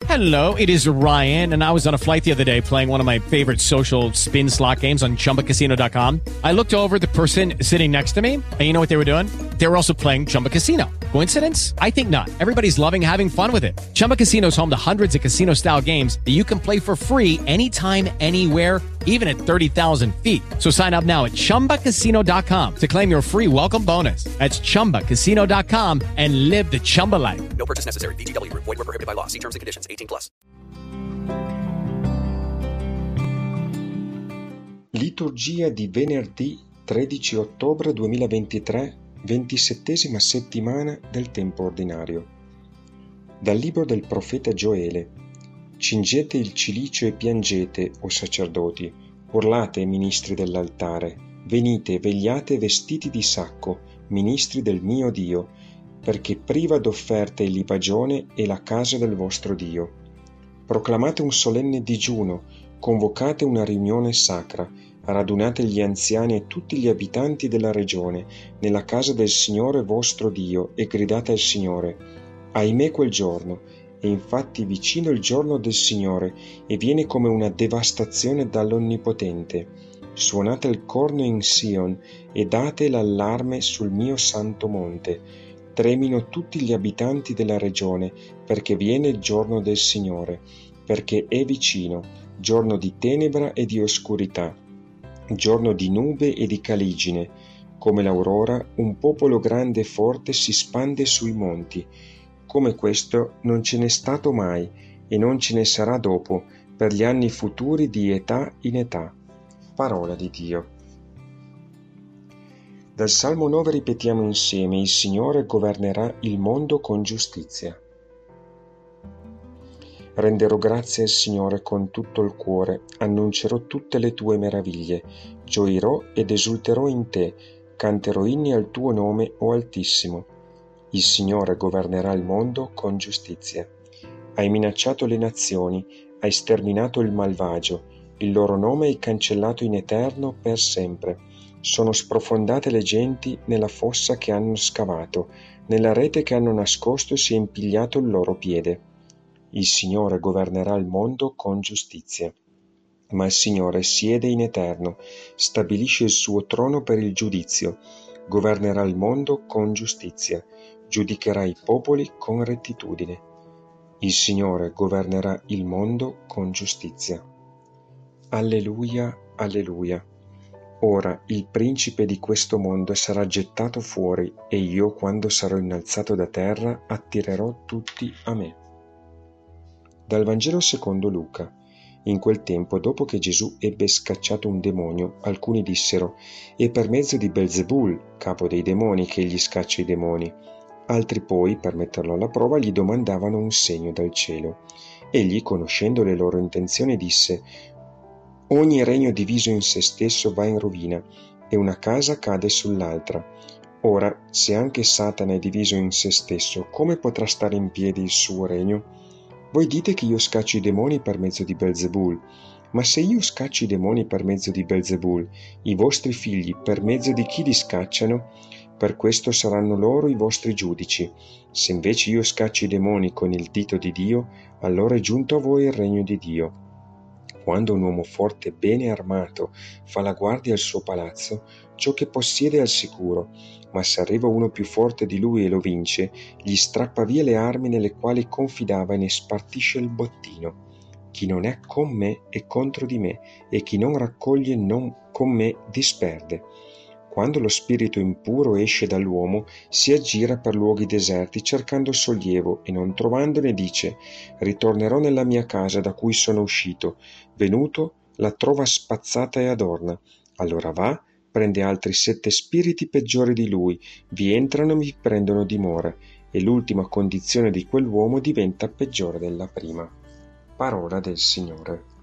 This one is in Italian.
Hello, it is Ryan, and I was on a flight the other day playing one of my favorite social spin slot games on ChumbaCasino.com. I looked over at the person sitting next to me, and you know what they were doing? They were also playing Chumba Casino. Coincidence? I think not. Everybody's loving having fun with it. Chumba Casino is home to hundreds of casino-style games that you can play for free anytime, anywhere, even at 30,000 feet. So sign up now at ChumbaCasino.com to claim your free welcome bonus. That's ChumbaCasino.com and live the Chumba life. No purchase necessary. VGW Group. Void where prohibited by law. See terms and conditions. 18+. Liturgia di venerdì 13 ottobre 2023, 27ª settimana del tempo ordinario. Dal libro del profeta Gioele. Cingete il cilicio e piangete, o sacerdoti, urlate, ministri dell'altare, venite, vegliate vestiti di sacco, ministri del mio Dio, perché priva d'offerte il libagione e la casa del vostro Dio. Proclamate un solenne digiuno, convocate una riunione sacra, radunate gli anziani e tutti gli abitanti della regione nella casa del Signore vostro Dio e gridate al Signore: ahimè quel giorno, è infatti vicino il giorno del Signore e viene come una devastazione dall'Onnipotente. Suonate il corno in Sion e date l'allarme sul mio santo monte. Tremino tutti gli abitanti della regione, perché viene il giorno del Signore, perché è vicino, giorno di tenebra e di oscurità, giorno di nube e di caligine. Come l'aurora, un popolo grande e forte si spande sui monti. Come questo non ce n'è stato mai, e non ce ne sarà dopo, per gli anni futuri di età in età. Parola di Dio. Dal Salmo 9 ripetiamo insieme: il Signore governerà il mondo con giustizia. Renderò grazie al Signore con tutto il cuore, annuncerò tutte le tue meraviglie, gioirò ed esulterò in te, canterò inni al tuo nome, o Altissimo. Il Signore governerà il mondo con giustizia. Hai minacciato le nazioni, hai sterminato il malvagio, il loro nome hai cancellato in eterno per sempre. Sono sprofondate le genti nella fossa che hanno scavato, nella rete che hanno nascosto si è impigliato il loro piede. Il Signore governerà il mondo con giustizia. Ma il Signore siede in eterno, stabilisce il suo trono per il giudizio, governerà il mondo con giustizia, giudicherà i popoli con rettitudine. Il Signore governerà il mondo con giustizia. Alleluia, alleluia. Ora il principe di questo mondo sarà gettato fuori, e io, quando sarò innalzato da terra, attirerò tutti a me. Dal Vangelo secondo Luca. In quel tempo, dopo che Gesù ebbe scacciato un demonio, alcuni dissero: è per mezzo di Belzebul, capo dei demoni, che egli scaccia i demoni. Altri poi, per metterlo alla prova, gli domandavano un segno dal cielo. Egli, conoscendo le loro intenzioni, disse: ogni regno diviso in se stesso va in rovina, e una casa cade sull'altra. Ora, se anche Satana è diviso in se stesso, come potrà stare in piedi il suo regno? Voi dite che io scaccio i demoni per mezzo di Belzebul, ma se io scaccio i demoni per mezzo di Belzebul, i vostri figli per mezzo di chi li scacciano? Per questo saranno loro i vostri giudici. Se invece io scaccio i demoni con il dito di Dio, allora è giunto a voi il regno di Dio. Quando un uomo forte e bene armato fa la guardia al suo palazzo, ciò che possiede è al sicuro, ma se arriva uno più forte di lui e lo vince, gli strappa via le armi nelle quali confidava e ne spartisce il bottino. Chi non è con me è contro di me, e chi non raccoglie non con me disperde. Quando lo spirito impuro esce dall'uomo, si aggira per luoghi deserti cercando sollievo, e non trovandone dice: ritornerò nella mia casa da cui sono uscito. Venuto, la trova spazzata e adorna. Allora va, prende altri 7 spiriti peggiori di lui, vi entrano e vi prendono dimora, e l'ultima condizione di quell'uomo diventa peggiore della prima. Parola del Signore.